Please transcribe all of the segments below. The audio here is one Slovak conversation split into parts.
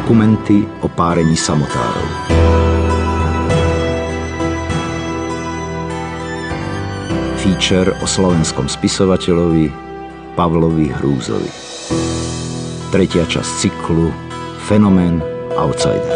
Dokumenty o párení samotárov. Feature o slovenskom spisovateľovi Pavlovi Hrúzovi. Tretia časť cyklu Fenomén outsider.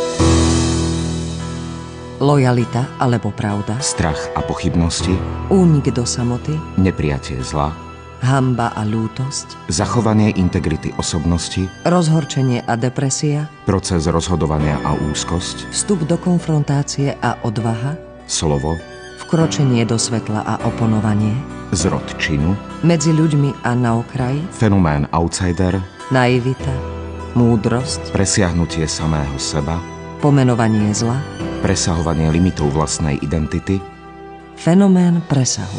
Lojalita alebo pravda. Strach a pochybnosti. Únik do samoty. Neprijatie zla. Hanba a ľútosť. Zachovanie integrity osobnosti. Rozhorčenie a depresia. Proces rozhodovania a úzkosť. Vstup do konfrontácie a odvaha. Slovo. Vkročenie do svetla a oponovanie. Zrod činu. Medzi ľuďmi a na okraji. Fenomén outsider. Naivita. Múdrosť. Presiahnutie samého seba. Pomenovanie zla. Presahovanie limitov vlastnej identity. Fenomén presahu.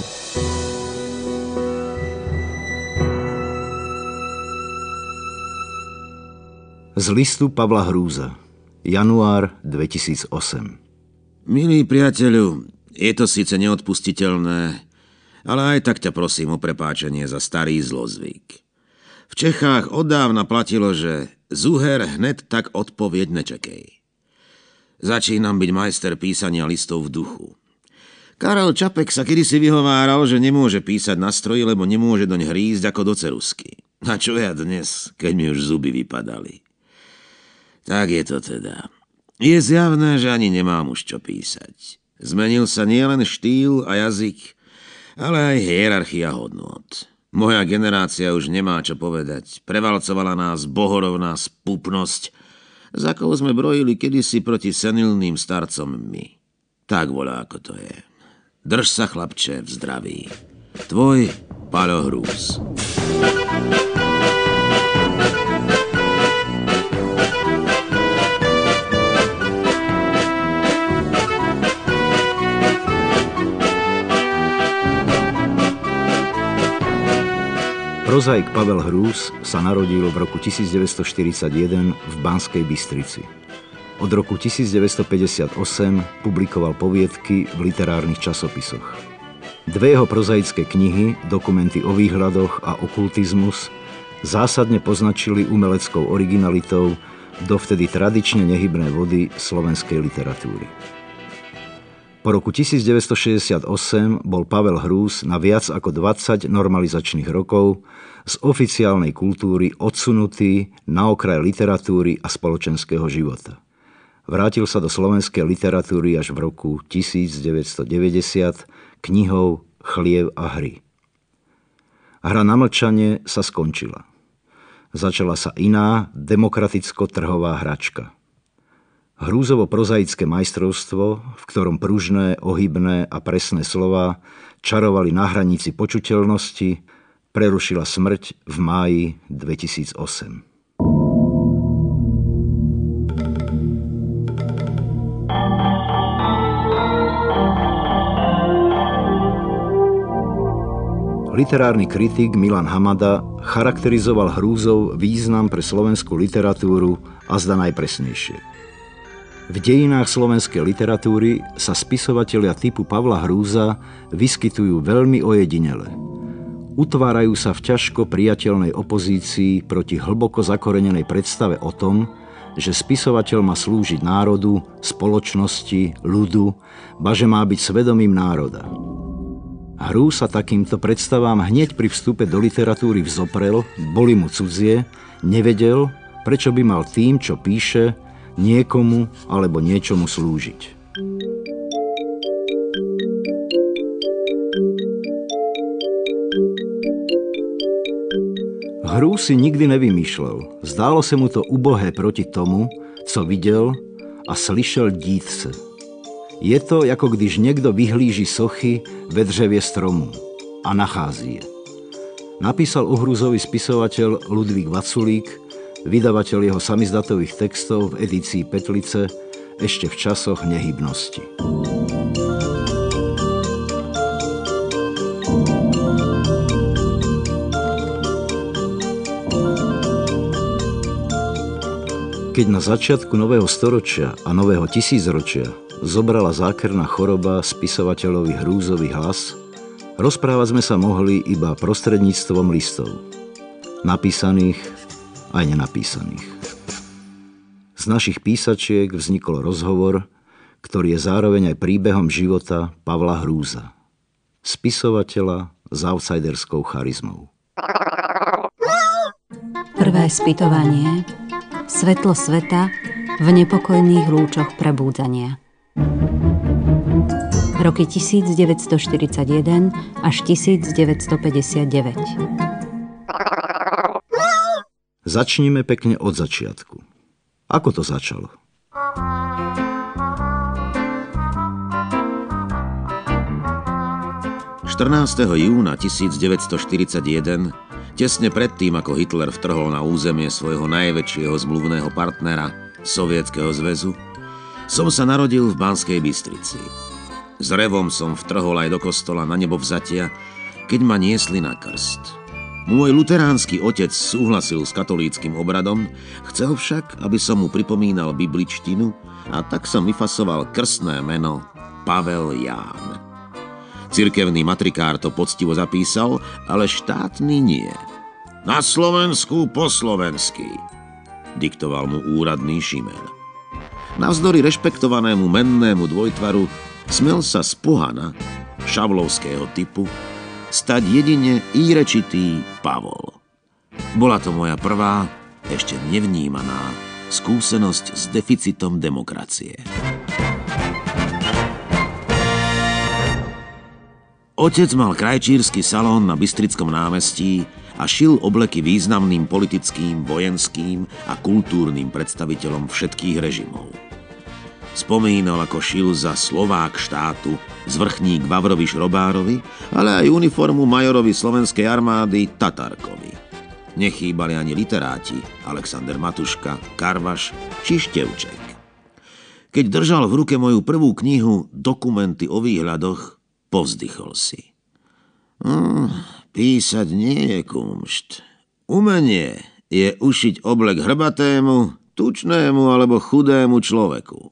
Z listu Pavla Hrúza. Január 2008. Milý priateľu, je to síce neodpustiteľné, ale aj tak ťa prosím o prepáčenie za starý zlozvyk. V Čechách oddávna platilo, že zuher hned tak odpoveď nečakej. Začínam byť majster písania listov v duchu. Karel Čapek sa kedysi vyhováral, že nemôže písať na stroji, lebo nemôže doň hrízť ako do ceruzky. A čo ja dnes, keď mi už zuby vypadali? Tak je to teda. Je zjavné, že ani nemám už čo písať. Zmenil sa nielen štýl a jazyk, ale aj hierarchia hodnôt. Moja generácia už nemá čo povedať. Prevalcovala nás bohorovná spupnosť, za akou sme brojili kedysi proti senilným starcom my. Tak voľa, ako to je. Drž sa, chlapče, v zdraví. Tvoj Paľo Hrúz. Prozaik Pavel Hrúz sa narodil v roku 1941 v Banskej Bystrici. Od roku 1958 publikoval poviedky v literárnych časopisoch. Dve jeho prozaické knihy, Dokumenty o výhľadoch a Okultizmus, zásadne poznačili umeleckou originalitou dovtedy tradične nehybné vody slovenskej literatúry. Po roku 1968 bol Pavel Hrúz na viac ako 20 normalizačných rokov z oficiálnej kultúry odsunutý na okraj literatúry a spoločenského života. Vrátil sa do slovenskej literatúry až v roku 1990 knihou Chliev a hry. Hra na mlčanie sa skončila. Začala sa iná, demokraticko-trhová hračka. Hrúzovo prozaické majstrovstvo, v ktorom pružné, ohybné a presné slová čarovali na hranici počuteľnosti, prerušila smrť v máji 2008. Literárny kritik Milan Hamada charakterizoval Hrúzov význam pre slovenskú literatúru a zdá najpresnejšie. V dejinách slovenskej literatúry sa spisovatelia typu Pavla Hrúza vyskytujú veľmi ojedinele. Utvárajú sa v ťažko priateľnej opozícii proti hlboko zakorenenej predstave o tom, že spisovateľ má slúžiť národu, spoločnosti, ľudu, ba že má byť svedomím národa. Hrúz sa takýmto predstavám hneď pri vstupe do literatúry vzoprel, boli mu cudzie, nevedel, prečo by mal tým, čo píše, niekomu alebo niečomu slúžiť. Hrúz si nikdy nevymýšľal. Zdálo sa mu to ubohé proti tomu, co videl a slyšel dítce. Je to, ako když niekto vyhlíži sochy ve dřevie stromu a nachází je. Napísal o Hrúzovi spisovateľ Ludvík Vaculík, vydavateľ jeho samizdatových textov v edícii Petlice ešte v časoch nehybnosti. Keď na začiatku nového storočia a nového tisícročia zobrala zákerná choroba spisovateľovi Hrúzovi hlas, rozprávať sme sa mohli iba prostredníctvom listov, napísaných aj nenapísaných. Z našich písačiek vznikol rozhovor, ktorý je zároveň aj príbehom života Pavla Hrúza, spisovateľa s outsiderskou charizmou. Prvé spytovanie. Svetlo sveta v nepokojných lúčoch prebúdzania. Roky 1941 až 1959. Začnime pekne od začiatku. Ako to začalo? Júna 1941, tesne predtým, ako Hitler vtrhol na územie svojho najväčšieho zmluvného partnera, Sovietskeho zväzu, som sa narodil v Banskej Bystrici. S revom som vtrhol aj do kostola na nebovzatia, keď ma niesli na krst. Môj luteránsky otec súhlasil s katolíckym obradom, chcel však, aby som mu pripomínal bibličtinu, a tak som vyfasoval krstné meno Pavel Ján. Cirkevný matrikár to poctivo zapísal, ale štátny nie. Na Slovensku po slovensky, diktoval mu úradný Šimel. Navzdory rešpektovanému mennému dvojtvaru smel sa z pohana, šavlovského typu, stať jedine írečitý Pavol. Bola to moja prvá, ešte nevnímaná, skúsenosť s deficitom demokracie. Otec mal krajčírsky salón na Bystrickom námestí a šil obleky významným politickým, vojenským a kultúrnym predstaviteľom všetkých režimov. Spomínal, ako šil za Slovák štátu zvrchník Vavrovi Šrobárovi, ale aj uniformu majorovi slovenskej armády Tatarkovi. Nechýbali ani literáti Alexander Matuška, Karvaš či Števček. Keď držal v ruke moju prvú knihu Dokumenty o výhľadoch, povzdychol si. Písať nie je kumšt. Umenie je ušiť oblek hrbatému, tučnému alebo chudému človeku.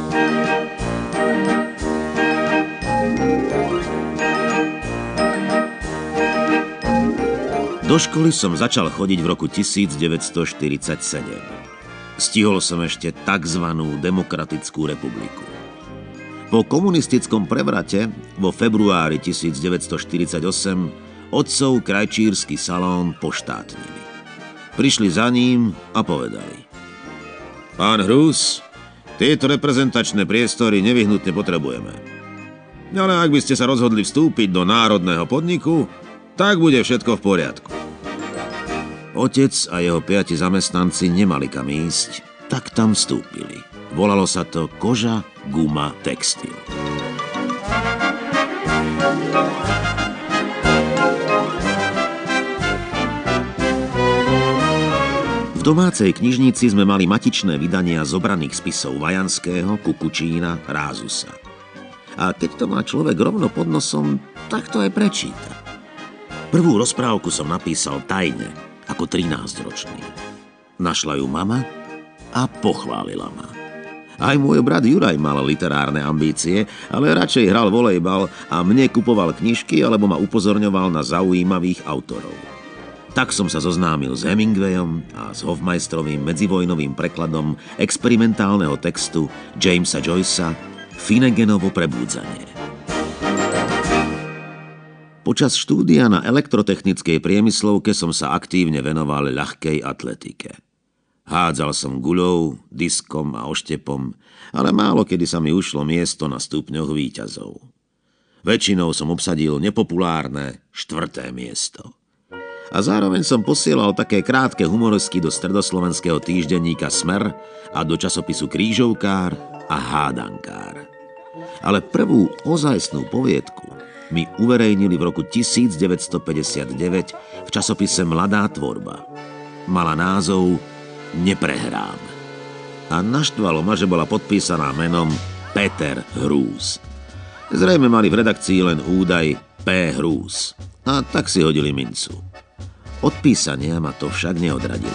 Do školy som začal chodiť v roku 1947. Stihol som ešte takzvanú Demokratickú republiku. Po komunistickom prevrate vo februári 1948 otcov krajčírsky salón poštátnili. Prišli za ním a povedali: Pán Hrúz, tieto reprezentačné priestory nevyhnutne potrebujeme. Ale ak by ste sa rozhodli vstúpiť do národného podniku, tak bude všetko v poriadku. Otec a jeho 5 zamestnanci nemali kam ísť, tak tam vstúpili. Volalo sa to Koža, guma, textil. V domácej knižnici sme mali matičné vydania zobraných spisov Vajanského, Kukučína, Rázusa. A keď to má človek rovno pod nosom, tak to aj prečíta. Prvú rozprávku som napísal tajne, ako 13-ročný. Našla ju mama a pochválila ma. Aj môj brat Juraj mal literárne ambície, ale radšej hral volejbal a mne kupoval knižky alebo ma upozorňoval na zaujímavých autorov. Tak som sa zoznámil s Hemingwayom a s Hofmeistrovým medzivojnovým prekladom experimentálneho textu Jamesa Joycea Finneganovo prebúdzanie. Počas štúdia na elektrotechnickej priemyslovke som sa aktívne venoval ľahkej atletike. Hádzal som guľou, diskom a oštepom, ale málo kedy sa mi ušlo miesto na stupňoch víťazov. Väčšinou som obsadil nepopulárne 4. miesto. A zároveň som posielal také krátke humoresky do stredoslovenského týždenníka Smer a do časopisu Krížovkár a Hádankár. Ale prvú ozajstnú poviedku mi uverejnili v roku 1959 v časopise Mladá tvorba. Mala názov Neprehrám. A naštvalo ma, že bola podpísaná menom Peter Hrúz. Zrejme mali v redakcii len údaj P. Hrúz. A tak si hodili mincu. Od písania ma to však neodradilo.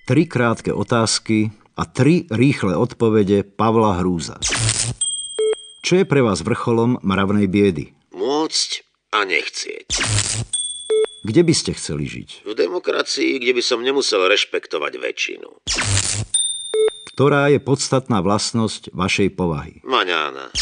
3 krátke otázky a 3 rýchle odpovede Pavla Hrúza. Čo je pre vás vrcholom mravnej biedy? Môcť a nechcieť. Kde by ste chceli žiť? V demokracii, kde by som nemusel rešpektovať väčšinu. Ktorá je podstatná vlastnosť vašej povahy? Maňána.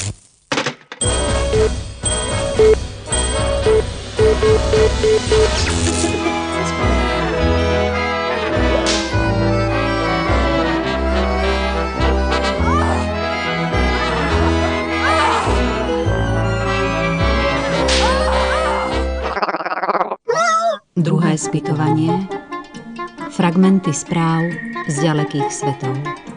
Druhé spytovanie. Fragmenty správ z ďalekých svetov.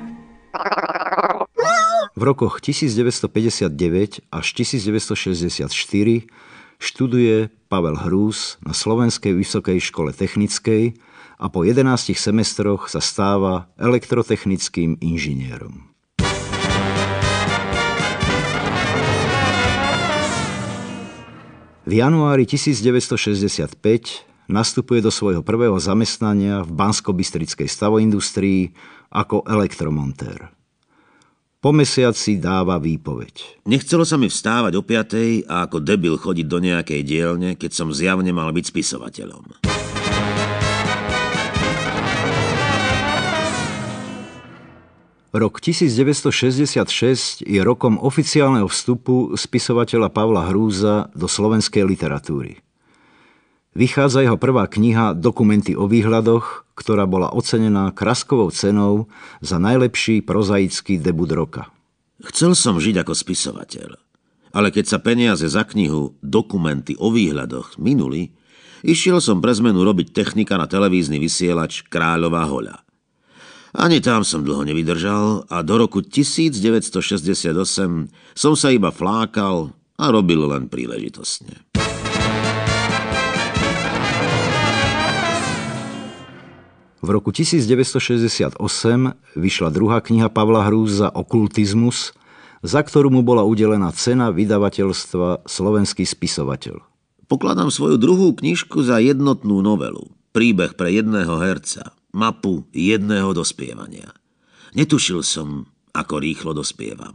V rokoch 1959 až 1964 študuje Pavel Hrúz na Slovenskej vysokej škole technickej a po 11 semestroch sa stáva elektrotechnickým inžinierom. V januári 1965 nastupuje do svojho prvého zamestnania v Banskobystrickej stavoindustrii ako elektromontér. Po mesiaci dáva výpoveď. Nechcelo sa mi vstávať o 5:00 a ako debil chodiť do nejakej dielne, keď som zjavne mal byť spisovateľom. Rok 1966 je rokom oficiálneho vstupu spisovateľa Pavla Hrúza do slovenskej literatúry. Vychádza jeho prvá kniha Dokumenty o výhľadoch, ktorá bola ocenená Kraskovou cenou za najlepší prozaický debut roka. Chcel som žiť ako spisovateľ, ale keď sa peniaze za knihu Dokumenty o výhľadoch minuli, išiel som pre zmenu robiť technika na televízny vysielač Kráľová hoľa. Ani tam som dlho nevydržal a do roku 1968 som sa iba flákal a robil len príležitostne. V roku 1968 vyšla druhá kniha Pavla Hrúza Okultizmus, za ktorú mu bola udelená cena vydavateľstva Slovenský spisovateľ. Pokladám svoju druhú knižku za jednotnú novelu. Príbeh pre jedného herca. Mapu jedného dospievania. Netušil som, ako rýchlo dospievam.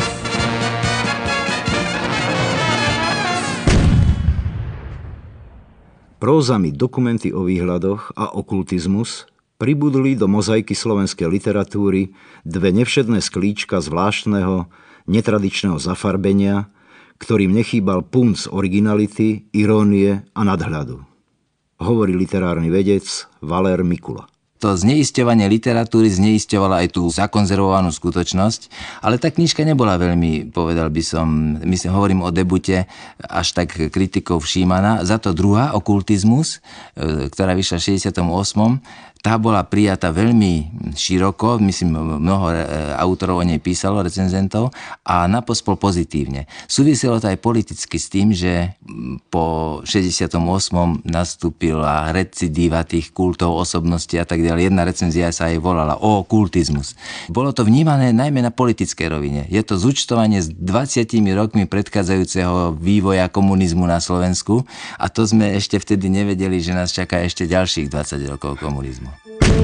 Prózami Dokumenty o výhľadoch a Okultizmus pribudli do mozaiky slovenskej literatúry dve nevšedné sklíčka zvláštneho, netradičného zafarbenia, ktorým nechýbal punc originality, irónie a nadhľadu. Hovorí literárny vedec Valér Mikula. To zneisťovanie literatúry zneisťovalo aj tú zakonzervovanú skutočnosť, ale tá knižka nebola veľmi, povedal by som, hovorím o debute, až tak kritikou všímaná. Za to druhá, Okultizmus, ktorá vyšla v 68., tá bola prijatá veľmi široko, myslím, mnoho autorov o nej písalo, recenzentov, a napospol pozitívne. Súviselo to aj politicky s tým, že po 68. nastúpila recidíva tých kultov, osobností a tak ďalej. Jedna recenzia sa aj volala Okultizmus. Bolo to vnímané najmä na politickej rovine. Je to zúčtovanie s 20 rokmi predchádzajúceho vývoja komunizmu na Slovensku a to sme ešte vtedy nevedeli, že nás čaká ešte ďalších 20 rokov komunizmu.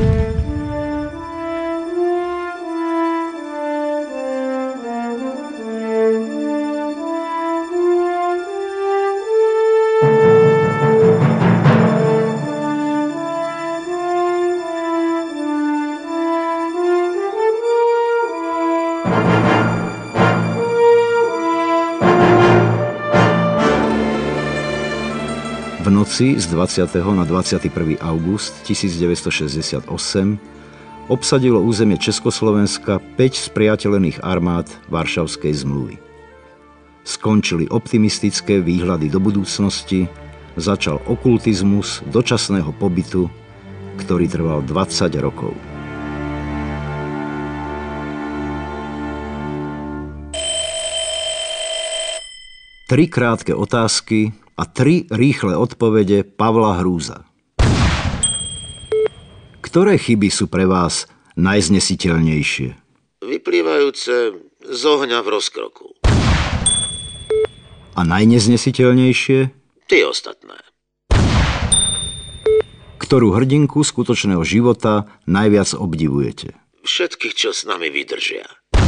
V noci z 20. na 21. august 1968 obsadilo územie Československa 5 spriateľených armád Varšavskej zmluvy. Skončili optimistické výhľady do budúcnosti, začal okultizmus dočasného pobytu, ktorý trval 20 rokov. Tri krátke otázky a 3 rýchle odpovede Pavla Hrúza. Ktoré chyby sú pre vás najznesiteľnejšie? Vyplývajúce z ohňa v rozkroku. A najneznesiteľnejšie? Tie ostatné. Ktorú hrdinku skutočného života najviac obdivujete? Všetkých, čo s nami vydržia.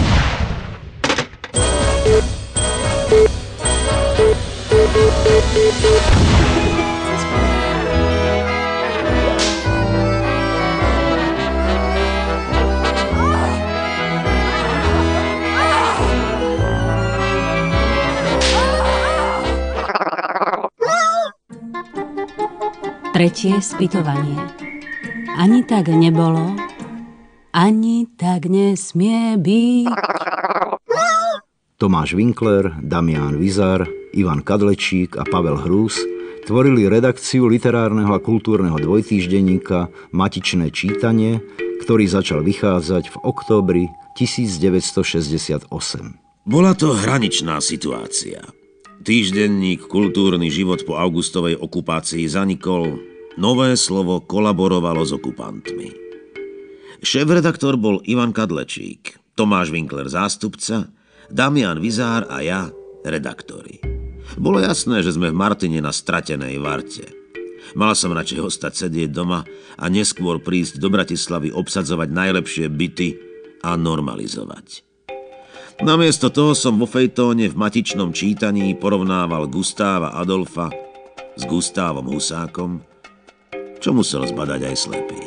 Tretie spytovanie. Ani tak nebolo, ani tak nesmie byť. Tomáš Winkler, Damián Vizar, Ivan Kadlečík a Pavel Hrús tvorili redakciu literárneho a kultúrneho dvojtýždenníka Matičné čítanie, ktorý začal vychádzať v októbri 1968. Bola to hraničná situácia. Týždenník Kultúrny život po augustovej okupácii zanikol, nové slovo kolaborovalo s okupantmi. Šéfredaktor bol Ivan Kadlečík, Tomáš Winkler zástupca, Damián Vizár a ja redaktori. Bolo jasné, že sme v Martine na stratenej varte. Mal som radšej ostať sedieť doma a neskôr prísť do Bratislavy obsadzovať najlepšie byty a normalizovať. Namiesto toho som vo fejtóne v Matičnom čítaní porovnával Gustáva Adolfa s Gustávom Husákom, čo musel zbadať aj slepý.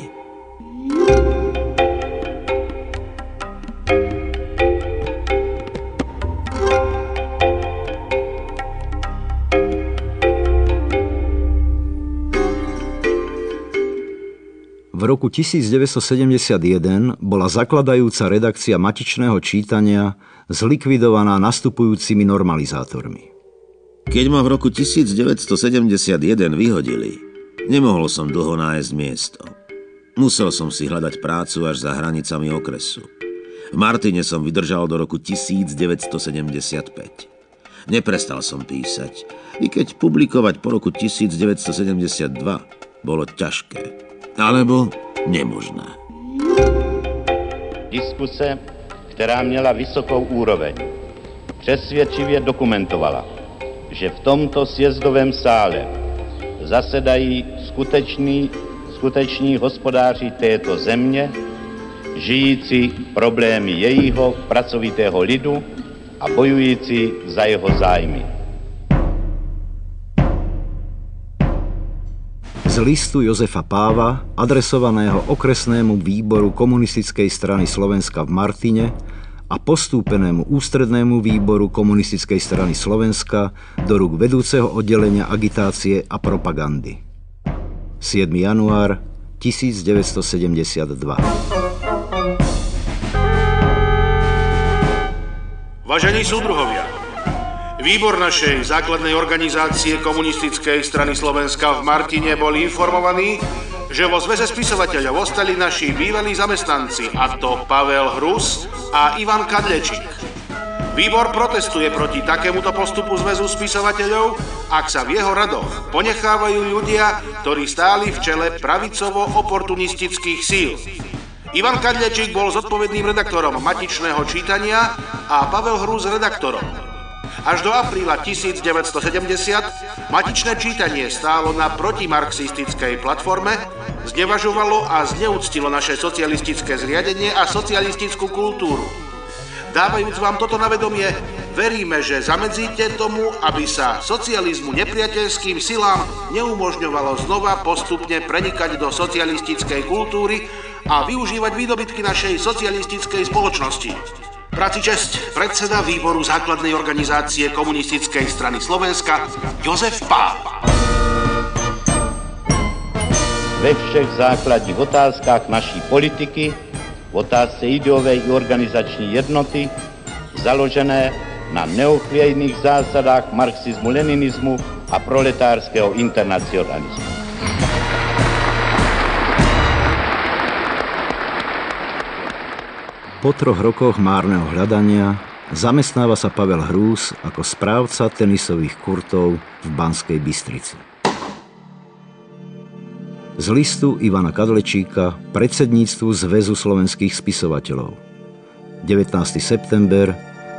V roku 1971 bola zakladajúca redakcia Matičného čítania zlikvidovaná nastupujúcimi normalizátormi. Keď ma v roku 1971 vyhodili, nemohol som dlho nájsť miesto. Musel som si hľadať prácu až za hranicami okresu. V Martine som vydržal do roku 1975. Neprestal som písať, i keď publikovať po roku 1972 bolo ťažké. Alebo nemožné. Diskuse, která měla vysokou úroveň, přesvědčivě dokumentovala, že v tomto sjezdovém sále zasedají skuteční hospodáři této země, žijící problémy jejího pracovitého lidu a bojující za jeho zájmy. Z listu Jozefa Páva, adresovaného okresnému výboru Komunistickej strany Slovenska v Martine a postúpenému ústrednému výboru Komunistickej strany Slovenska do rúk vedúceho oddelenia agitácie a propagandy. 7. január 1972. Vážení súdruhovia, výbor našej základnej organizácie Komunistickej strany Slovenska v Martine bol informovaný, že vo zväze spisovateľov ostali naši bývalí zamestnanci, a to Pavel Hrús a Ivan Kadlečík. Výbor protestuje proti takémuto postupu zväzu spisovateľov, ak sa v jeho radoch ponechávajú ľudia, ktorí stáli v čele pravicovo-oportunistických síl. Ivan Kadlečík bol zodpovedným redaktorom Matičného čítania a Pavel Hrús redaktorom. Až do apríla 1970 Matičné čítanie stálo na protimarxistickej platforme, znevažovalo a zneúctilo naše socialistické zriadenie a socialistickú kultúru. Dávajúc vám toto na vedomie, veríme, že zamedzíte tomu, aby sa socializmu nepriateľským silám neumožňovalo znova postupne prenikať do socialistickej kultúry a využívať výdobytky našej socialistickej spoločnosti. Práci česť, predseda výboru základnej organizácie Komunistickej strany Slovenska Jozef Páva. Ve všech základních otázkách naší politiky, v otázce ideové i organizační jednoty, založené na neochvějných zásadách marxismu-leninismu a proletárského internacionalismu. Po 3 rokoch márneho hľadania zamestnáva sa Pavel Hrús ako správca tenisových kurtov v Banskej Bystrici. Z listu Ivana Kadlečíka predsedníctvu Zväzu slovenských spisovateľov 19. september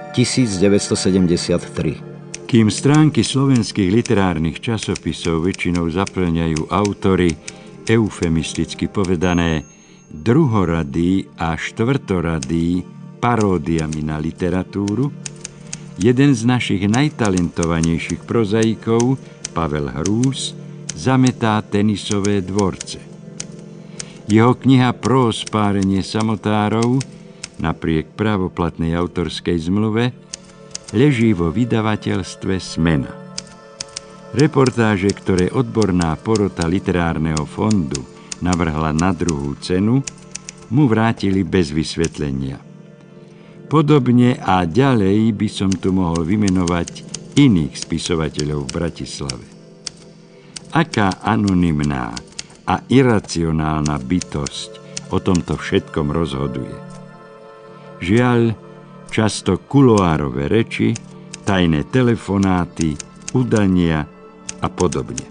1973. Kým stránky slovenských literárnych časopisov väčšinou zaplňajú autory eufemisticky povedané, druhoradý a štvrtoradý paródiami na literatúru, jeden z našich najtalentovanejších prozaikov, Pavel Hrús, zametá tenisové dvorce. Jeho kniha Prós párenie samotárov, napriek právoplatnej autorskej zmluve, leží vo vydavateľstve Smena. Reportáže, ktoré odborná porota literárneho fondu navrhla na druhú cenu, mu vrátili bez vysvetlenia. Podobne a ďalej by som tu mohol vymenovať iných spisovateľov v Bratislave. Aká anonymná a iracionálna bytosť o tomto všetkom rozhoduje. Žiaľ, často kuloárové reči, tajné telefonáty, udania a podobne.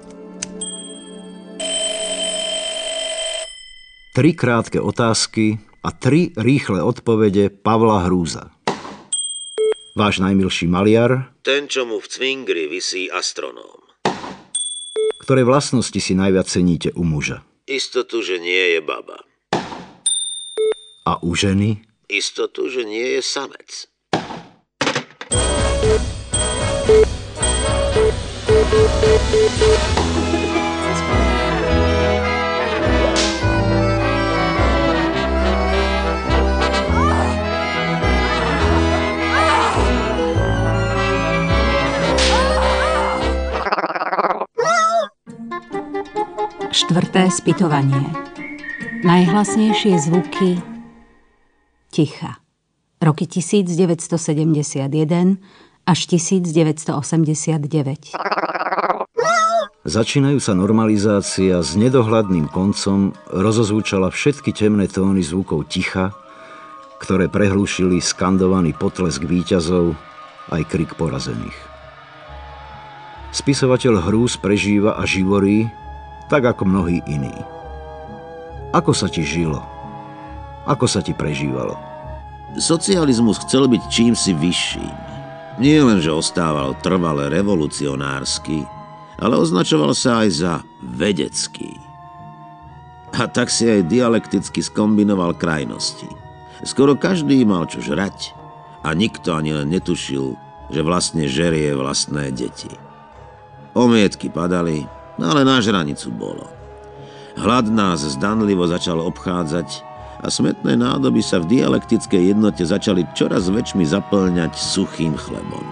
3 krátke otázky a 3 rýchle odpovede Pavla Hrúza. Váš najmilší maliar? Ten, čo mu v cvingri visí astronóm. Ktoré vlastnosti si najviac ceníte u muža? Istotu, že nie je baba. A u ženy? Istotu, že nie je samec. Štvrté spytovanie. Najhlasnejšie zvuky ticha. Roky 1971 až 1989. Začínajúca normalizácia s nedohľadným koncom rozozvučala všetky temné tóny zvukov ticha, ktoré prehlúšili skandovaný potlesk víťazov aj krik porazených. Spisovateľ Hrús prežíva a živorí tak ako mnohí iní. Ako sa ti žilo? Ako sa ti prežívalo? Socializmus chcel byť čímsi vyšším. Nie len, že ostával trvale revolucionársky, ale označoval sa aj za vedecký. A tak si aj dialekticky skombinoval krajnosti. Skoro každý mal čo žrať a nikto ani len netušil, že vlastne žerie vlastné deti. Omietky padali, ale na žranicu bolo. Hlad nás zdanlivo začal obchádzať a smetné nádoby sa v dialektickej jednote začali čoraz väčšmi zaplňať suchým chlebom.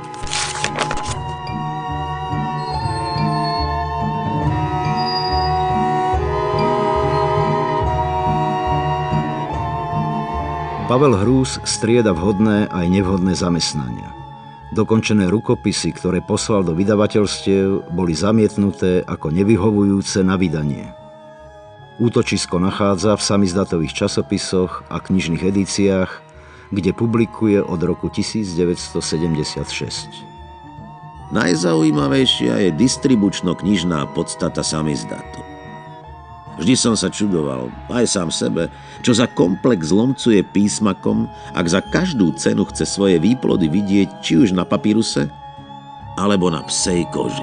Pavel Hrús strieda vhodné aj nevhodné zamestnania. Dokončené rukopisy, ktoré poslal do vydavateľstiev, boli zamietnuté ako nevyhovujúce na vydanie. Útočisko nachádza v samizdatových časopisoch a knižných edíciách, kde publikuje od roku 1976. Najzaujímavejšia je distribučno-knižná podstata samizdatu. Vždy som sa čudoval, aj sám sebe, čo za komplex zlomcuje písmakom, ak za každú cenu chce svoje výplody vidieť či už na papíruse, alebo na psej koži.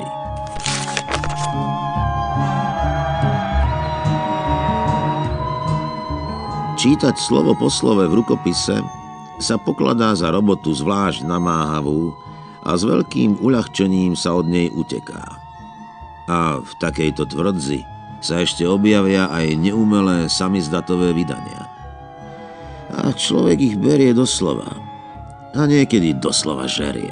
Čítať slovo po slove v rukopise sa pokladá za robotu zvlášť namáhavú a s veľkým uľahčením sa od nej uteká. A v takejto tvrdzi sa ešte objavia aj neumelé samizdatové vydania. A človek ich berie doslova. A niekedy doslova žerie.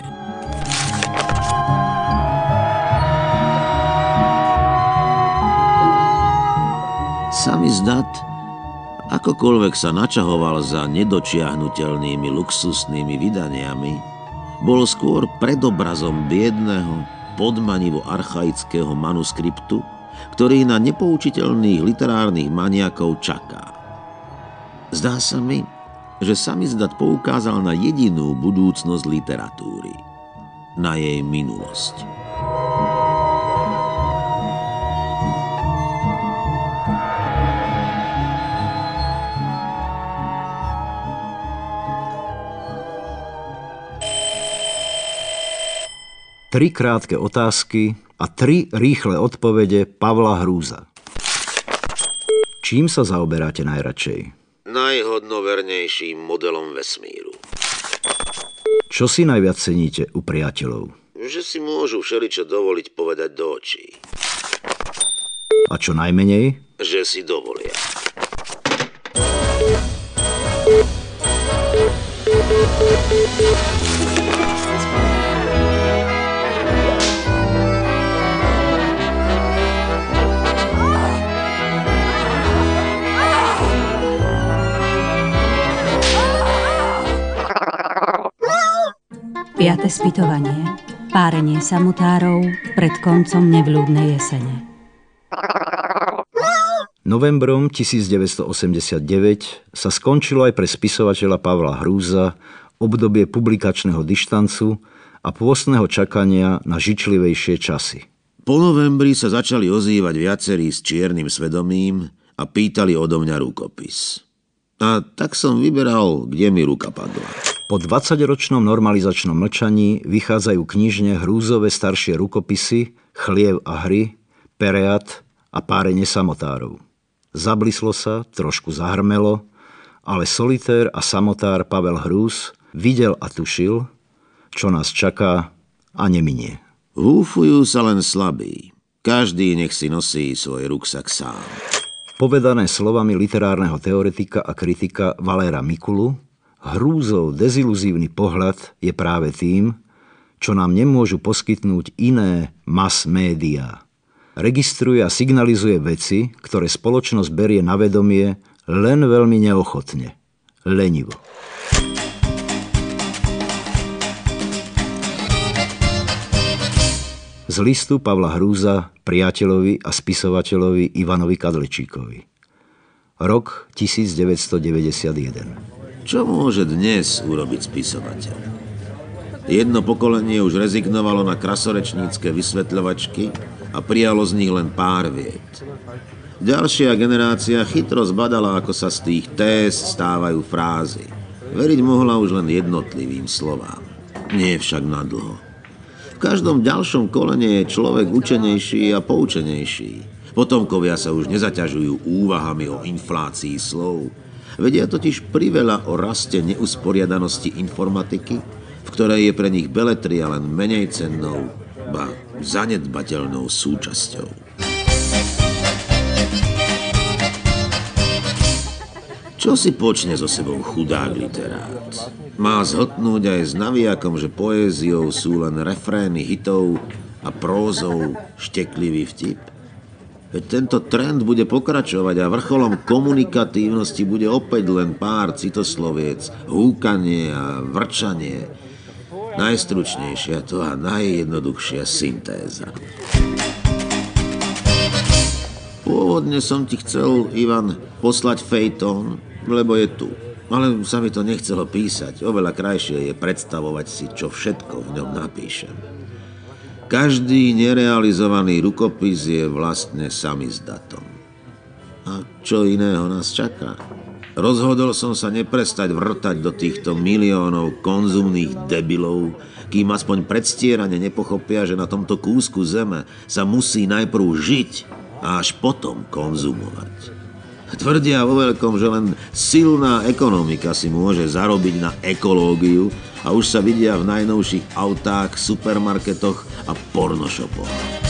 Samizdat, akokoľvek sa načahoval za nedočiahnuteľnými luxusnými vydaniami, bol skôr predobrazom biedného, podmanivo archaického manuskriptu, ktorý na nepoučiteľných literárnych maniakov čaká. Zdá sa mi, že samizdat poukázal na jedinú budúcnosť literatúry, na jej minulosť. Tri krátke otázky a 3 rýchle odpovede Pavla Hrúza. Čím sa zaoberáte najradšej? Najhodnovernejším modelom vesmíru. Čo si najviac ceníte u priateľov? Že si môžu všeličo dovoliť povedať do očí. A čo najmenej? Že si dovolia. Piate spytovanie. Párenie samotárov pred koncom nevľúdnej jesene. Novembrom 1989 sa skončilo aj pre spisovateľa Pavla Hrúza obdobie publikačného dištancu a pôstneho čakania na žičlivejšie časy. Po novembri sa začali ozývať viacerí s čiernym svedomím a pýtali odo mňa rukopis. A tak som vyberal, kde mi ruka padla. Po 20-ročnom normalizačnom mlčaní vychádzajú knižne Hrúzove staršie rukopisy Chliev a hry, Pereat a Párenie samotárov. Zablislo sa, trošku zahrmelo, ale solitér a samotár Pavel Hrúz videl a tušil, čo nás čaká a neminie. Húfujú sa len slabí. Každý nech si nosí svoj ruksak sám. Povedané slovami literárneho teoretika a kritika Valéra Mikulu, Hrúzov deziluzívny pohľad je práve tým, čo nám nemôžu poskytnúť iné mass médiá. Registruje a signalizuje veci, ktoré spoločnosť berie na vedomie len veľmi neochotne, lenivo. Z listu Pavla Hrúza priateľovi a spisovateľovi Ivanovi Kadlečíkovi. Rok 1991. Čo môže dnes urobiť spisovateľ? Jedno pokolenie už rezignovalo na krasorečnícke vysvetľovačky a prijalo z nich len pár vied. Ďalšia generácia chytro zbadala, ako sa z tých téz stávajú frázy. Veriť mohla už len jednotlivým slovám. Nie však nadlho. V každom ďalšom kolene je človek učenejší a poučenejší. Potomkovia sa už nezaťažujú úvahami o inflácii slov. Vedia totiž priveľa o raste neusporiadanosti informatiky, v ktorej je pre nich beletria len menej cennou, ba zanedbateľnou súčasťou. Čo si počne so sebou chudák literát? Má zhltnúť aj s navijakom, že poéziou sú len refrény hitov a prózou šteklivý vtip? Veď tento trend bude pokračovať a vrcholom komunikatívnosti bude opäť len pár citosloviec, húkanie a vrčanie. Najstručnejšia to a najjednoduchšia syntéza. Pôvodne som ti chcel, Ivan, poslať fejtón, lebo je tu. Ale sa mi to nechcelo písať. Oveľa krajšie je predstavovať si, čo všetko v ňom napíšem. Každý nerealizovaný rukopis je vlastne samizdatom. A čo iného nás čaká? Rozhodol som sa neprestať vrtať do týchto miliónov konzumných debilov, kým aspoň predstierane nepochopia, že na tomto kúsku zeme sa musí najprv žiť a až potom konzumovať. Tvrdia vo veľkom, že len silná ekonomika si môže zarobiť na ekológiu a už sa vidia v najnovších autách, supermarketoch a pornoshopoch.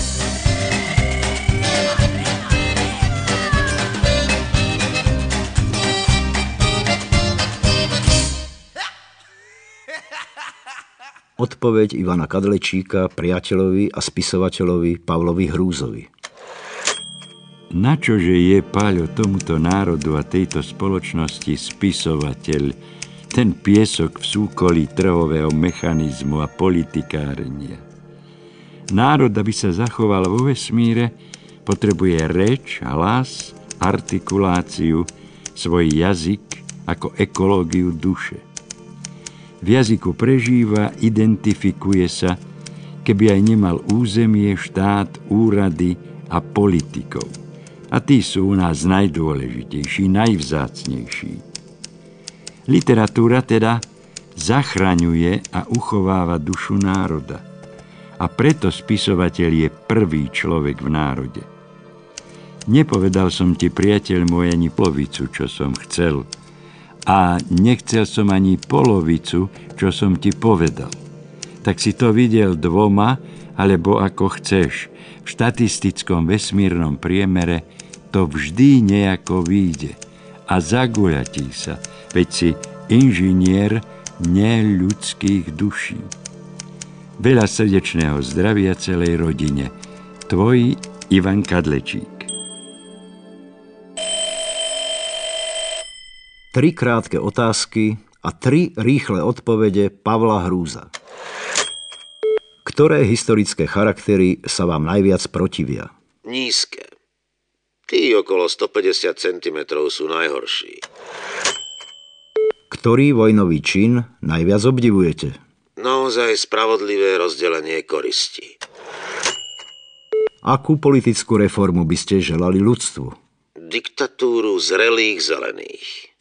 Odpoveď Ivana Kadlečíka priateľovi a spisovateľovi Pavlovi Hrúzovi. Načože je, Páľo, tomuto národu a tejto spoločnosti spisovateľ, ten piesok v súkolí trhového mechanizmu a politikárenia? Národ, aby sa zachoval vo vesmíre, potrebuje reč, hlas, artikuláciu, svoj jazyk ako ekológiu duše. V jazyku prežíva, identifikuje sa, keby aj nemal územie, štát, úrady a politikov. A tí sú u nás najdôležitejší, najvzácnejší. Literatúra teda zachraňuje a uchováva dušu národa. A preto spisovateľ je prvý človek v národe. Nepovedal som ti, priateľ môj, ani polovicu, čo som chcel. A nechcel som ani polovicu, čo som ti povedal. Tak si to videl dvoma, alebo ako chceš. V štatistickom vesmírnom priemere to vždy nejako vyjde. A zaguľatí sa, veď si inžinier neľudských duší. Veľa srdečného zdravia celej rodine. Tvoj Ivan Kadlečík. 3 krátke otázky a 3 rýchle odpovede Pavla Hrúza. Ktoré historické charaktery sa vám najviac protivia? Nízke. Tí okolo 150 cm sú najhorší. Ktorý vojnový čin najviac obdivujete? Naozaj spravodlivé rozdelenie koristi. Akú politickú reformu by ste želali ľudstvu? Diktatúru zrelých zelených.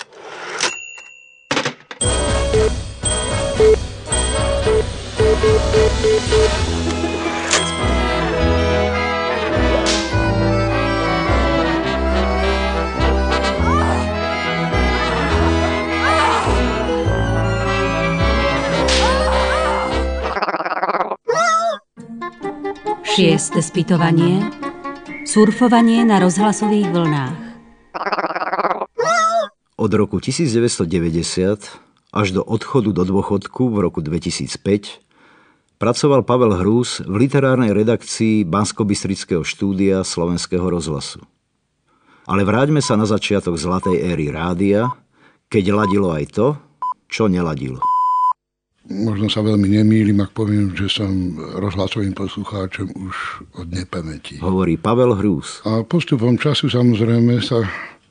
Šieste spytovanie. Surfovanie na rozhlasových vlnách. Od roku 1990 až do odchodu do dôchodku v roku 2005 pracoval Pavel Hrúz v literárnej redakcii Banskobystrického štúdia Slovenského rozhlasu. Ale vráťme sa na začiatok zlatej éry rádia, keď ladilo aj to, čo neladilo. Možno sa veľmi nemýlim, ak poviem, že som rozhlasovým poslucháčom už od nepamäti. Hovorí Pavel Hrúz. A postupom času samozrejme sa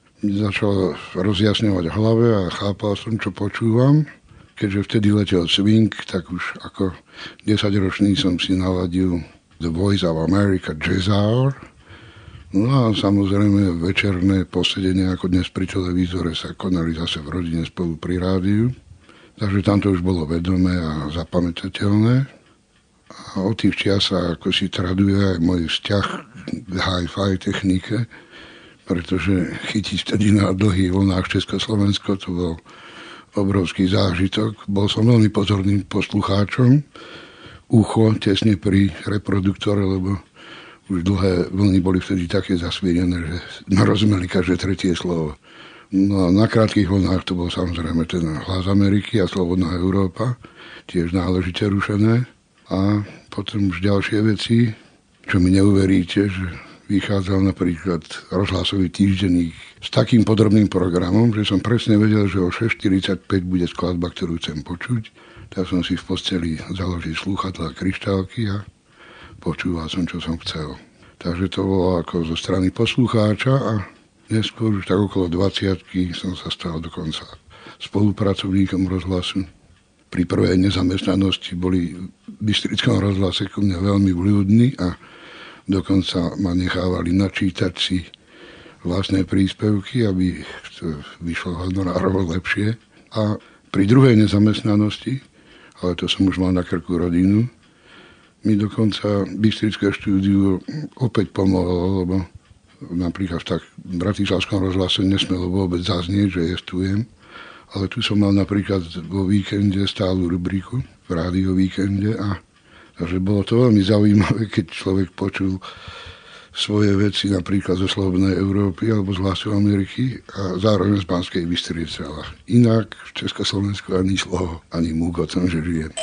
začal rozjasňovať v hlave a chápal som, čo počúvam. Keďže vtedy letel swing, tak už ako 10-ročný som si naladil The Voice of America Jazz Hour. No a samozrejme večerné posedenie, ako dnes pri televízore, sa konali zase v rodine spolu pri rádiu. Takže tam to už bolo vedomé a zapamätateľné. A od tých čias sa ako si traduje aj môj vzťah k hi-fi technike, pretože chytiť vtedy na dlhých vlnách Československo, to bol obrovský zážitok. Bol som veľmi pozorným poslucháčom. Ucho tesne pri reproduktore, lebo už dlhé vlny boli vtedy také zasvietené, že narozumeli každé tretie slovo. No a na krátkych vlnách to bol samozrejme ten Hlas Ameriky a Slobodná Európa, tiež náležite rušené. A potom už ďalšie veci, čo mi neuveríte, že vychádzal napríklad rozhlasový týždenník s takým podrobným programom, že som presne vedel, že o 6:45 bude skladba, ktorú chcem počuť. Tak som si v posteli založil slúchadlá a kryštálky a počúval som, čo som chcel. Takže to bolo ako zo strany poslucháča a neskôr už tak okolo 20-ky som sa stal dokonca spolupracovníkom rozhlasu. Pri prvej nezamestnanosti boli v Bystrickom rozhlase ku mne veľmi vľúdni a dokonca ma nechávali načítať si vlastné príspevky, aby to vyšlo honorárovo lepšie. A pri druhej nezamestnanosti, ale to som už mal na krku rodinu, mi dokonca Bystrické štúdiu opäť pomohlo, lebo napríklad v bratislavskom rozhlase nesmelo vôbec zaznieť, že jestujem. Ale tu som mal napríklad vo víkende stálu rubriku v rádio víkende a takže bolo to veľmi zaujímavé, keď človek počul svoje veci napríklad zo Slobodnej Európy alebo z Hlasu Ameriky a zároveň z Banskej Bystrice. Ale inak v Československu ani slovo, ani múk o tom, že žijem.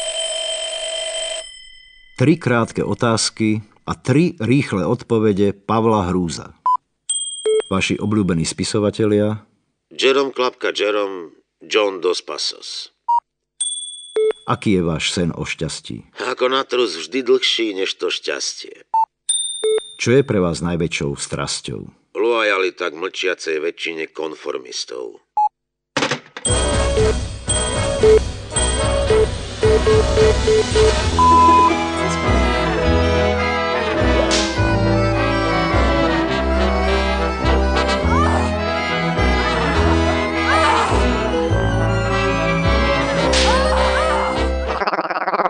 3 krátke otázky a 3 rýchle odpovede Pavla Hrúza. Vaši obľúbení spisovatelia? Jerome Klapka Jerome, John Dos Passos. Aký je váš sen o šťastí? Ako na trus vždy dlhší než to šťastie. Čo je pre vás najväčšou strasťou? Loajalita k mlčiacej väčšine konformistov.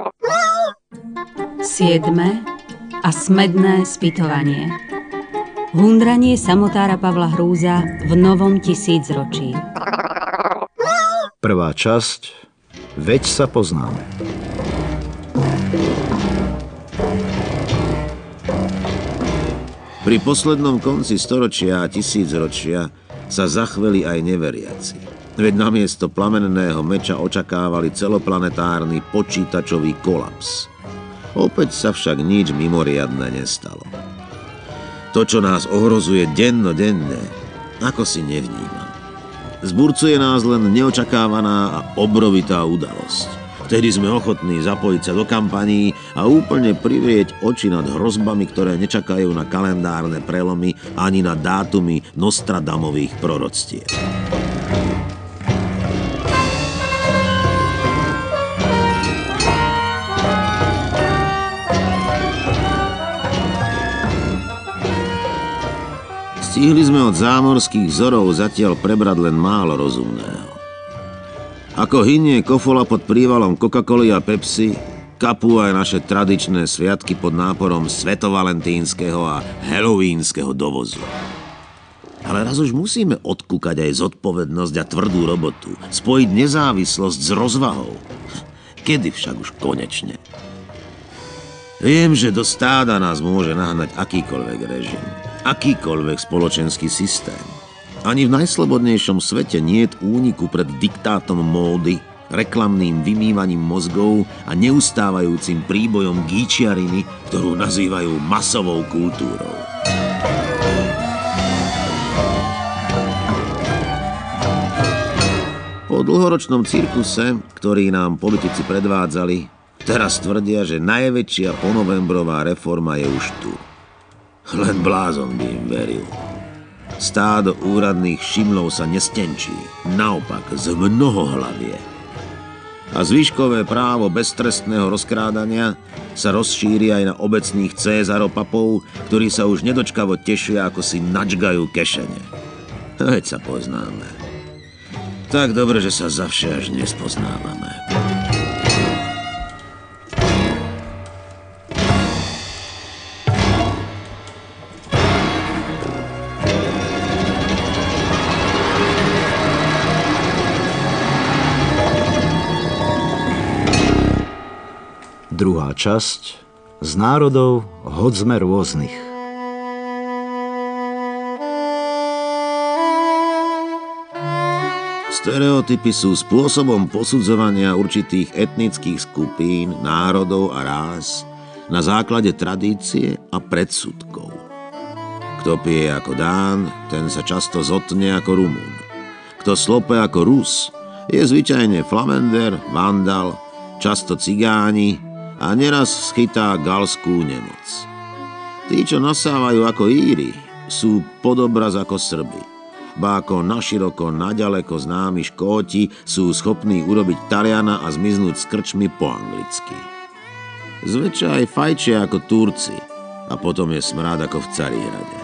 Siedme a smedné spytovanie. Hundranie samotára Pavla Hrúza v novom tisícročí. Prvá časť. Veď sa poznáme. Pri poslednom konci storočia a tisícročia sa zachveli aj neveriaci. Veď namiesto plamenného meča očakávali celoplanetárny počítačový kolaps. Opäť sa však nič mimoriadne nestalo. To, čo nás ohrozuje dennodenne, ako si nevnímam. Zburcuje nás len neočakávaná a obrovitá udalosť. Vtedy sme ochotní zapojiť sa do kampaní a úplne privrieť oči nad hrozbami, ktoré nečakajú na kalendárne prelomy ani na dátumy Nostradamových proroctiev. Stihli sme od zámorských vzorov zatiaľ prebrať len málo rozumného. Ako hynie kofola pod prívalom Coca-Coly a Pepsi, kapú aj naše tradičné sviatky pod náporom svetovalentínskeho a halloweenskeho dovozu. Ale raz už musíme odkúkať aj zodpovednosť a tvrdú robotu, spojiť nezávislosť s rozvahou. Kedy však už konečne? Viem, že do stáda nás môže nahnať akýkoľvek režim, akýkoľvek spoločenský systém. Ani v najslobodnejšom svete niet úniku pred diktátom módy, reklamným vymývaním mozgov a neustávajúcim príbojom gíčiariny, ktorú nazývajú masovou kultúrou. Po dlhoročnom cirkuse, ktorý nám politici predvádzali, teraz tvrdia, že najväčšia ponovembrová reforma je už tu. Len blázon by im veril. Stádo úradných šimlov sa nestenčí, naopak zmnohohlavie. A zvyškové právo beztrestného rozkrádania sa rozšíri aj na obecných cézaropapov, ktorí sa už nedočkavo tešia, ako si načgajú kešene. Veď sa poznáme. Tak dobre, že sa zavše až nespoznávame. Druhá časť. Z národov hoď sme rôznych. Stereotypy sú spôsobom posudzovania určitých etnických skupín, národov a rás na základe tradície a predsudkov. Kto pije ako Dán, ten sa často zotne ako Rumún. Kto slope ako Rus, je zvyčajne Flamender, Vandal, často Cigáni a neraz schytá galskú nemoc. Tí, čo nasávajú ako Íri, sú podobraz ako Srby. Ba ako naširoko, naďaleko známi Škóti sú schopní urobiť Taliana a zmiznúť s krčmi po anglicky. Zväčša aj fajčia ako Turci a potom je smrád ako v Carihrade.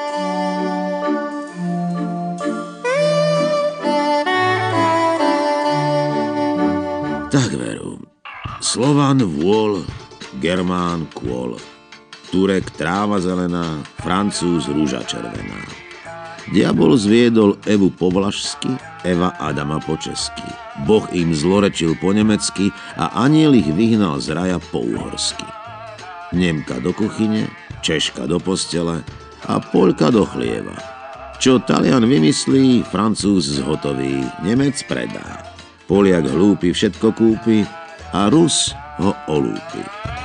Tak veru. Slovan vôľ, Germán kôl, Turek tráva zelená, Francúz rúža červená. Diabol zviedol Evu po vlašsky, Eva Adama po česky. Boh im zlorečil po nemecky a aniel ich vyhnal z raja po uhorsky. Nemka do kuchyne, Češka do postele a Poľka do chlieva. Čo Talian vymyslí, Francúz zhotoví, Nemec predá. Poliak hlúpy všetko kúpi a Rus ho olúpi.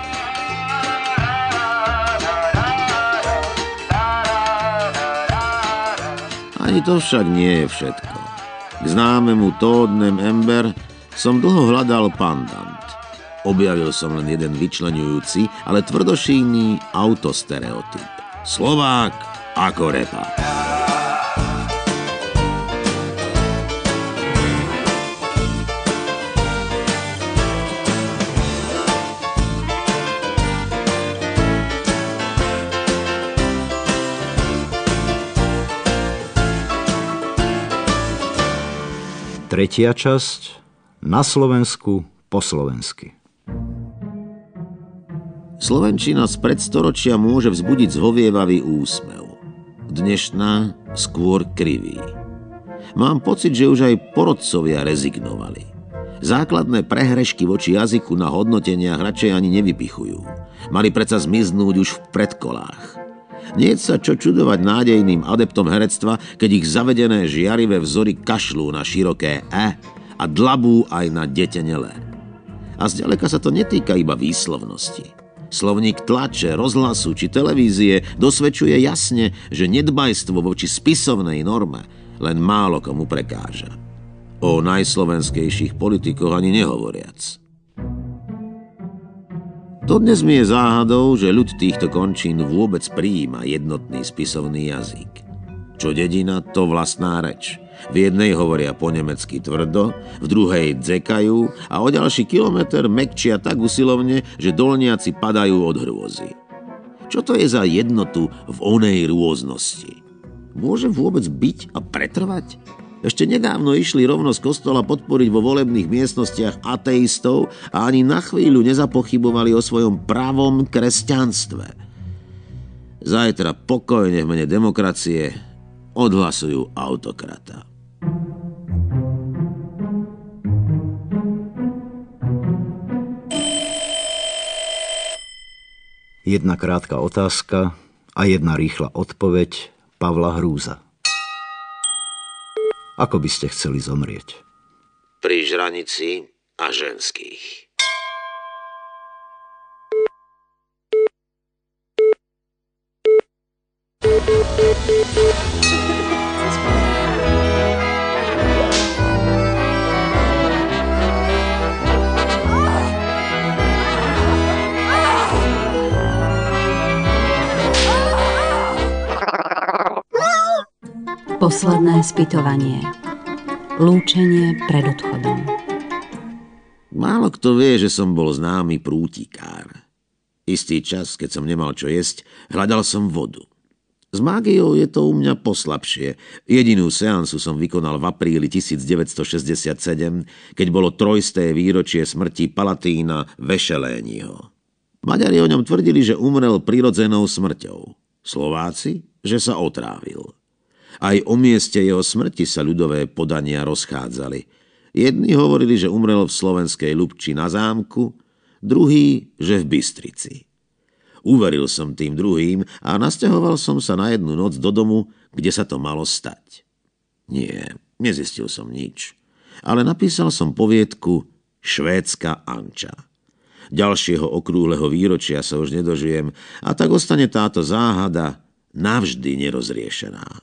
Ani to však nie je všetko. K známemu Toadnem Ember som dlho hľadal pandant. Objavil som len jeden vyčleňujúci, ale tvrdošíjný autostereotyp. Slovák ako repa. Tretia časť. Na Slovensku po slovensky. Slovenčina z predstoročia môže vzbudiť zhovievavý úsmev. dnešná skôr kriví. Mám pocit, že už aj porodcovia rezignovali. Základné prehrešky voči jazyku na hodnoteniach radšej ani nevypichujú. Mali predsa zmiznúť už v predkolách. Nie sa čo čudovať nádejným adeptom herectva, keď ich zavedené žiarivé vzory kašľú na široké E a dlabú aj na detenelé. A zďaleka sa to netýka iba výslovnosti. Slovník tlače, rozhlasu či televízie dosvedčuje jasne, že nedbajstvo voči spisovnej norme len málo komu prekáža. O najslovenskejších politikoch ani nehovoriac. Dodnes mi je záhadou, že ľud týchto končín vôbec prijíma jednotný spisovný jazyk. Čo dedina, to vlastná reč. V jednej hovoria po nemecky tvrdo, v druhej dzekajú a o ďalší kilometr mekčia tak usilovne, že dolniaci padajú od hrôzy. Čo to je za jednotu v onej rôznosti? Môže vôbec byť a pretrvať? Ešte nedávno išli rovno z kostola podporiť vo volebných miestnostiach ateistov a ani na chvíľu nezapochybovali o svojom pravom kresťanstve. Zajtra pokojne v mene demokracie odhlasujú autokrata. Jedna krátka otázka a jedna rýchla odpoveď Pavla Hrúza. Ako by ste chceli zomrieť? Pri žranici a ženských. Posledné spytovanie. Lúčenie pred odchodom. Málo kto vie, že som bol známy prútikár. Istý čas, keď som nemal čo jesť, hľadal som vodu. S mágiou je to u mňa poslabšie. Jedinú seansu som vykonal v apríli 1967, keď bolo 300. výročie smrti Palatína Vešeléniho. Maďari o ňom tvrdili, že umrel prirodzenou smrťou. Slováci, že sa otrávil. Aj o mieste jeho smrti sa ľudové podania rozchádzali. Jedni hovorili, že umrel v slovenskej Ľubči na zámku, druhý, že v Bystrici. Uveril som tým druhým a nasťahoval som sa na jednu noc do domu, kde sa to malo stať. Nie, nezistil som nič, ale napísal som poviedku Švédska Anča. Ďalšieho okrúhleho výročia sa už nedožijem a tak ostane táto záhada navždy nerozriešená.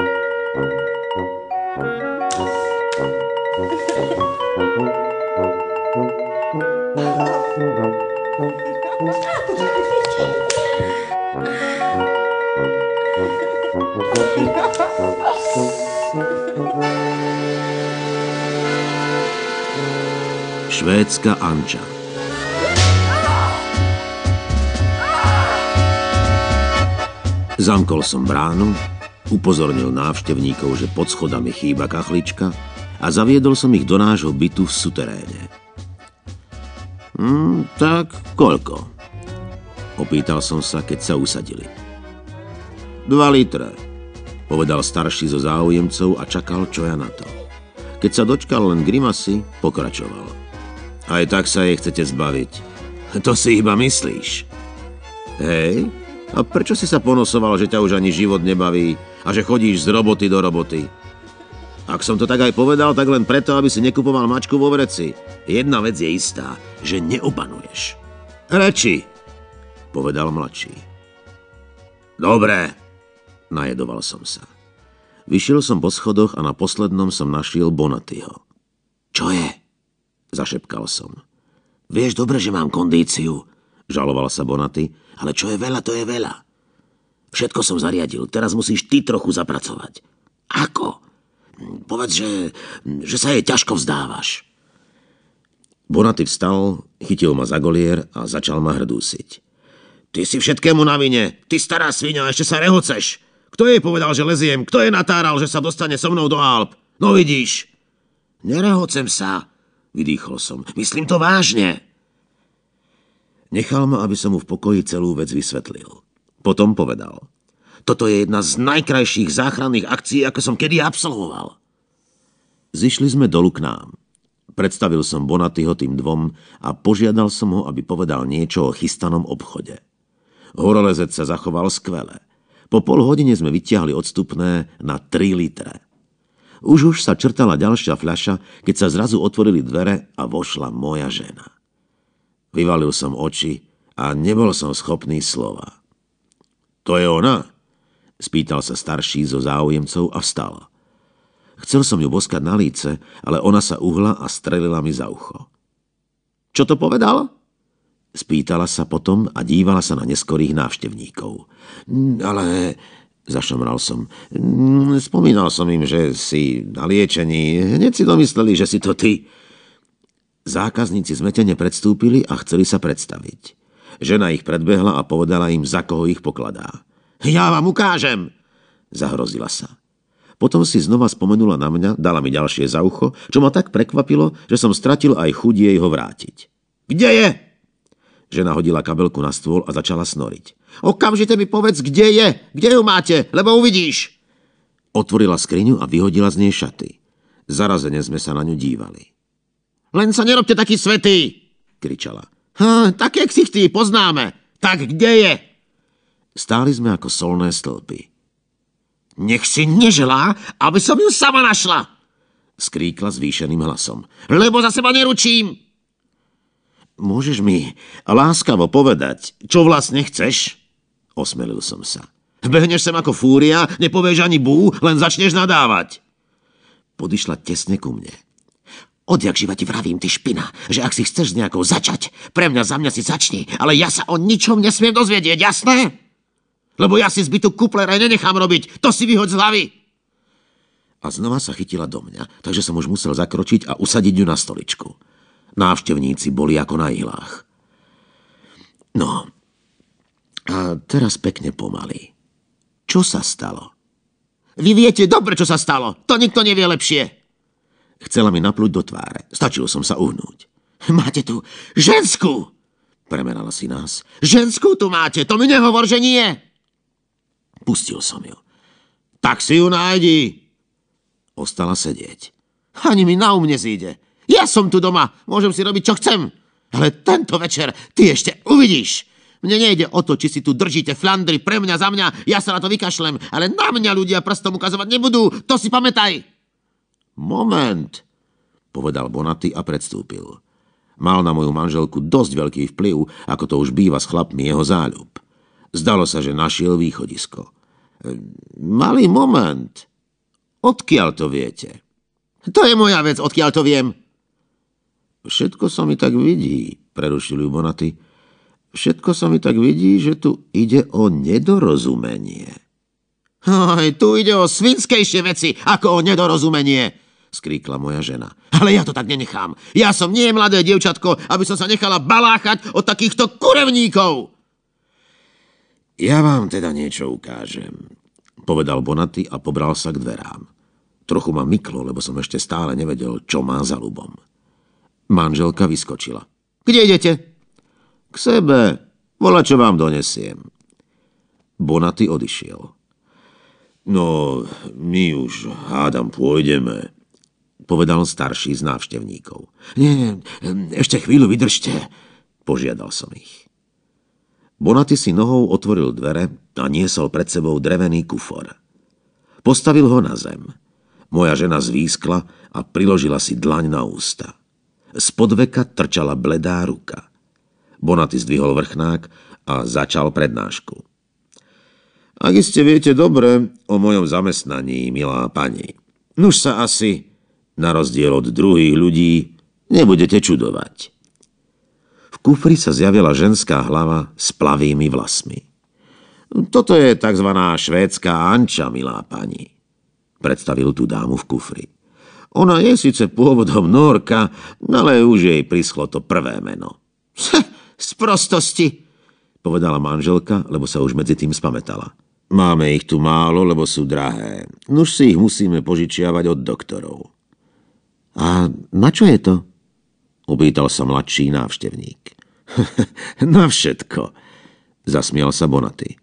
Švédska Anča. Zamkol som bránu, upozornil návštevníkov, že pod schodami chýba kachlička a zaviedol som ich do nášho bytu v suteréne. Tak koľko? Opýtal som sa, keď sa usadili. 2 litre, povedal starší zo záujemcov a čakal, čo ja na to. Keď sa dočkal len grimasy, pokračoval. Aj tak sa jej chcete zbaviť. To si iba myslíš. Hej? A prečo si sa ponosoval, že ťa už ani život nebaví a že chodíš z roboty do roboty? Ak som to tak aj povedal, tak len preto, aby si nekupoval mačku vo vreci. Jedna vec je istá, že neopanuješ. Reči, povedal mladší. Dobre, najedoval som sa. Vyšiel som po schodoch a na poslednom som našiel Bonatyho. Čo je? Zašepkal som. Vieš dobre, že mám kondíciu, žaloval sa Bonaty, ale čo je veľa, to je veľa. Všetko som zariadil, teraz musíš ty trochu zapracovať. Ako? Povedz, že sa jej ťažko vzdávaš. Bonaty vstal, chytil ma za golier a začal ma hrdúsiť. Ty si všetkému na vine, ty stará sviňa, ešte sa rehoceš. Kto jej povedal, že leziem? Kto jej natáral, že sa dostane so mnou do Alp? No vidíš. Nerehocem sa, vydýchol som. Myslím to vážne. Nechal ma, aby som mu v pokoji celú vec vysvetlil. Potom povedal. Toto je jedna z najkrajších záchranných akcií, ako som kedy absolvoval. Zišli sme dolu k nám. Predstavil som Bonatyho tým dvom a požiadal som ho, aby povedal niečo o chystanom obchode. Horolezec sa zachoval skvele. Po pol hodine sme vytiahli odstupné na 3 litre. Už sa črtala ďalšia fľaša, keď sa zrazu otvorili dvere a vošla moja žena. Vyvalil som oči a nebol som schopný slova. To je ona? Spýtal sa starší zo záujemcov a vstal. Chcel som ju boskať na líce, ale ona sa uhla a strelila mi za ucho. Čo to povedal? Spýtala sa potom a dívala sa na neskorých návštevníkov. Ale, zašomral som, spomínal som im, že si na liečení. Hneď si domysleli, že si to ty. Zákazníci zmetene predstúpili a chceli sa predstaviť. Žena ich predbehla a povedala im, za koho ich pokladá. Ja vám ukážem, zahrozila sa. Potom si znova spomenula na mňa, dala mi ďalšie za ucho, čo ma tak prekvapilo, že som stratil aj chuť jej ho vrátiť. Kde je? Žena hodila kabelku na stôl a začala snoriť. Okamžite mi povedz, kde je, kde ju máte, lebo uvidíš. Otvorila skriňu a vyhodila z nej šaty. Zarazene sme sa na ňu dívali. Len sa nerobte taký svätý, kričala. Tak jak si ty, poznáme. Tak kde je? Stáli sme ako solné stĺpy. Nech si neželá, aby som ju sama našla, skríkla zvýšeným hlasom. Lebo za seba neručím. Môžeš mi láskavo povedať, čo vlastne chceš? Osmelil som sa. Behneš sem ako fúria, nepovieš ani bú, len začneš nadávať. Podišla tesne ku mne. Odjak živa ti vravím, ty špina, že ak si chceš s nejakou začať, pre mňa za mňa si začni, ale ja sa o ničom nesmiem dozvedieť, jasné? Lebo ja si zbytú kuplera nenechám robiť, to si vyhoď z hlavy. A znova sa chytila do mňa, takže som už musel zakročiť a usadiť ju na stoličku. Návštevníci boli ako na ihlách. No, a teraz pekne pomaly. Čo sa stalo? Vy viete dobre, čo sa stalo, to nikto nevie lepšie. Chcela mi napľuť do tváre. Stačilo som sa uhnúť. Máte tu ženskú! Premerala si nás. Ženskú tu máte, to mi nehovor, že nie! Pustil som ju. Tak si ju nájdi! Ostala sedieť. Ani mi na nezíde. Ja som tu doma, môžem si robiť, čo chcem. Ale tento večer ty ešte uvidíš. Mne nejde o to, či si tu držíte flandry pre mňa, za mňa. Ja sa na to vykašlem, ale na mňa ľudia prstom ukazovať nebudú. To si pamätaj. Moment, povedal Bonaty a predstúpil. Mal na moju manželku dosť veľký vplyv, ako to už býva s chlapmi jeho záľub. Zdalo sa, že našiel východisko. Malý moment. Odkiaľ to viete? To je moja vec, odkiaľ to viem. Všetko sa mi tak vidí, prerušil ju Bonaty. Všetko sa mi tak vidí, že tu ide o nedorozumenie. Tu ide o svinskejšie veci, ako o nedorozumenie, skríkla moja žena. Ale ja to tak nenechám. Ja som nie mladé dievčatko, aby som sa nechala baláchať od takýchto kurevníkov. Ja vám teda niečo ukážem, povedal Bonaty a pobral sa k dverám. Trochu ma myklo, lebo som ešte stále nevedel, čo má za ľubom. Manželka vyskočila. Kde idete? K sebe. Voľa, čo vám donesiem. Bonaty odišiel. No, my už hádam pôjdeme, povedal starší z návštevníkov. Nie, ešte chvíľu vydržte, požiadal som ich. Bonaty si nohou otvoril dvere a niesol pred sebou drevený kufor. Postavil ho na zem. Moja žena zvískla a priložila si dlaň na ústa. Spod veka trčala bledá ruka. Bonaty zdvihol vrchnák a začal prednášku. Ak iste viete dobre o mojom zamestnaní, milá pani, nuž sa asi, na rozdiel od druhých ľudí, nebudete čudovať. V kufri sa zjavila ženská hlava s plavými vlasmi. Toto je takzvaná švédska Anča, milá pani, predstavil tú dámu v kufri. Ona je síce pôvodom Nórka, ale už jej prischlo to prvé meno. Z prostosti, povedala manželka, lebo sa už medzi tým spamätala. Máme ich tu málo, lebo sú drahé. Nuž si ich musíme požičiavať od doktorov. A na čo je to? Opýtal sa mladší návštevník. Na všetko, zasmial sa Bonaty.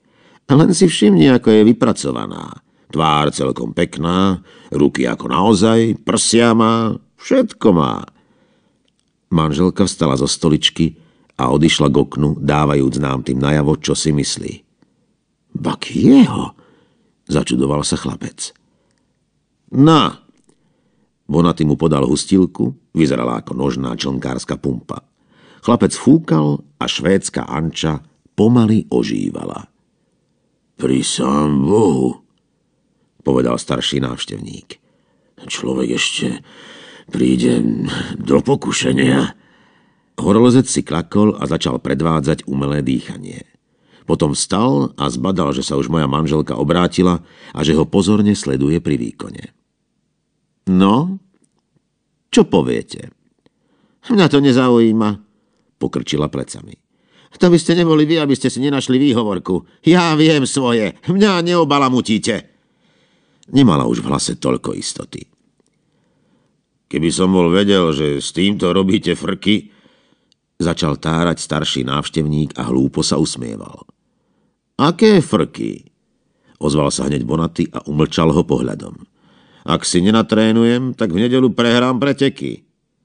Len si všimni, ako je vypracovaná. Tvár celkom pekná, ruky ako naozaj, prsia má, všetko má. Manželka vstala zo stoličky a odišla k oknu, dávajúc nám tým najavo, čo si myslí. Bak jeho, začudoval sa chlapec. Na! Bonaty mu podal hustilku, vyzerala ako nožná člnkárska pumpa. Chlapec fúkal a švédska Anča pomaly ožívala. Pri sám Bohu, povedal starší návštevník. Človek ešte príde do pokušenia. Horolezec si klakol a začal predvádzať umelé dýchanie. Potom vstal a zbadal, že sa už moja manželka obrátila a že ho pozorne sleduje pri výkone. No, čo poviete? Mňa to nezaujíma, pokrčila plecami. To by ste neboli vy, aby ste si nenašli výhovorku. Ja viem svoje, mňa neobalamutíte. Nemala už v hlase toľko istoty. Keby som bol vedel, že s týmto robíte frky, začal tárať starší návštevník a hlúpo sa usmieval. Aké frky? Ozval sa hneď Bonaty a umlčal ho pohľadom. Ak si nenatrénujem, tak v nedeľu prehrám preteky.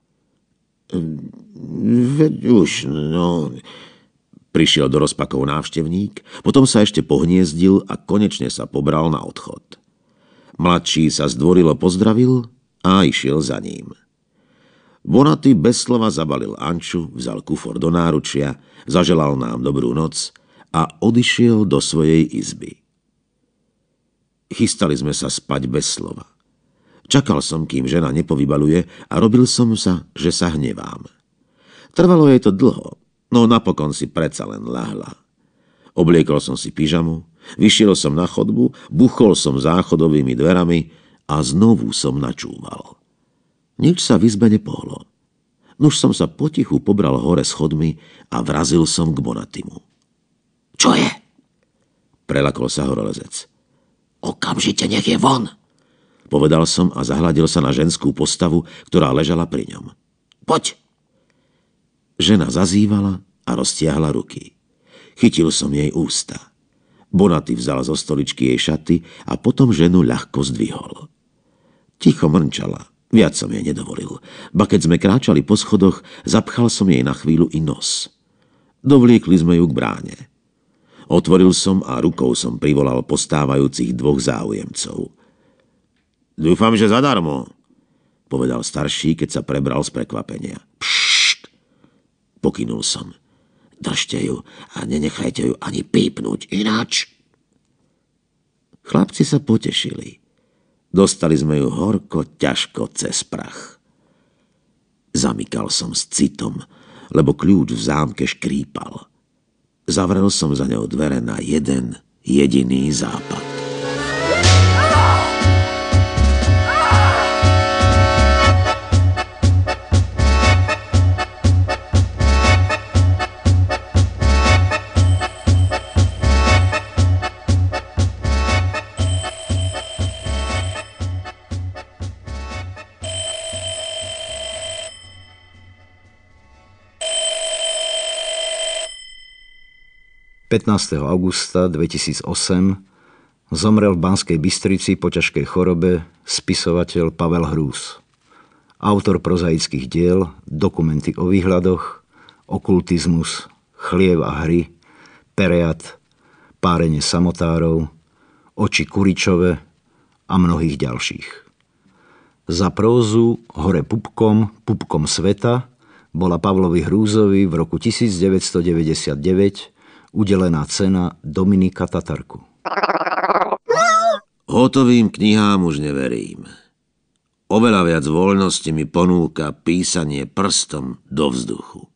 Veď už, no... Prišiel do rozpakov návštevník, potom sa ešte pohniezdil a konečne sa pobral na odchod. Mladší sa zdvorilo pozdravil a išiel za ním. Bonaty bez slova zabalil Anču, vzal kufor do náručia, zaželal nám dobrú noc a odišiel do svojej izby. Chystali sme sa spať bez slova. Čakal som, kým žena nepovybaluje a robil som sa, že sa hnevám. Trvalo jej to dlho, no napokon si predsa len ľahla. Obliekol som si pyžamu, vyšiel som na chodbu, buchol som záchodovými dverami a znovu som načúval. Nič sa v izbe nepohlo. Nuž som sa potichu pobral hore schodmi a vrazil som k Bonatymu. Čo je? Prelakol sa horolezec. Okamžite nech je von, povedal som a zahľadil sa na ženskú postavu, ktorá ležala pri ňom. Poď! Žena zazývala a roztiahla ruky. Chytil som jej ústa. Bonaty vzal zo stoličky jej šaty a potom ženu ľahko zdvihol. Ticho mrnčala, viac som jej nedovolil. Ba keď sme kráčali po schodoch, zapchal som jej na chvíľu i nos. Dovliekli sme ju k bráne. Otvoril som a rukou som privolal postávajúcich dvoch záujemcov. Dúfam, že zadarmo, povedal starší, keď sa prebral z prekvapenia. Pokynul som. Držte ju a nenechajte ju ani pípnuť, ináč. Chlapci sa potešili. Dostali sme ju horko, ťažko cez prach. Zamykal som s citom, lebo kľúč v zámke škrípal. Zavrel som za ňou dvere na jeden jediný západ. 15. augusta 2008 zomrel v Banskej Bystrici po ťažkej chorobe spisovateľ Pavel Hrús. Autor prozaických diel, dokumenty o výhľadoch, okultizmus, Chliev a hry, Pereat, Párenie samotárov, Oči Kuričove a mnohých ďalších. Za prózu Hore pupkom, pupkom sveta bola Pavlovi Hrúzovi v roku 1999 udelená cena Dominika Tatarku. Hotovým knihám už neverím. Oveľa viac voľnosti mi ponúka písanie prstom do vzduchu.